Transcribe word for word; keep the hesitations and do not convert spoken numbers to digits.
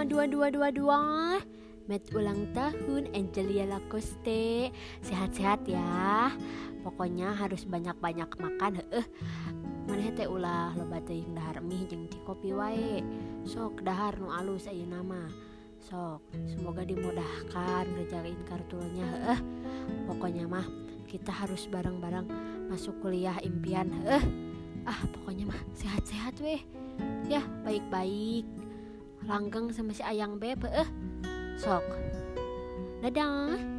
aduh aduh aduh aduh. Met ulang tahun Angelia Lacoste. Sehat-sehat ya. Pokoknya harus banyak-banyak makan heueuh. Maneh teh ulah loba teuing dahar mie jeung ti kopi wae. Sok dahar nu alus ayeuna mah. Sok, semoga dimudahkan ngerjain kartunya heueuh. Pokoknya mah kita harus bareng-bareng masuk kuliah impian heueuh. Ah, pokoknya mah sehat-sehat weh. Ya, baik-baik. Langgeng sama si Ayang Beb heueuh. Sok. Dadah.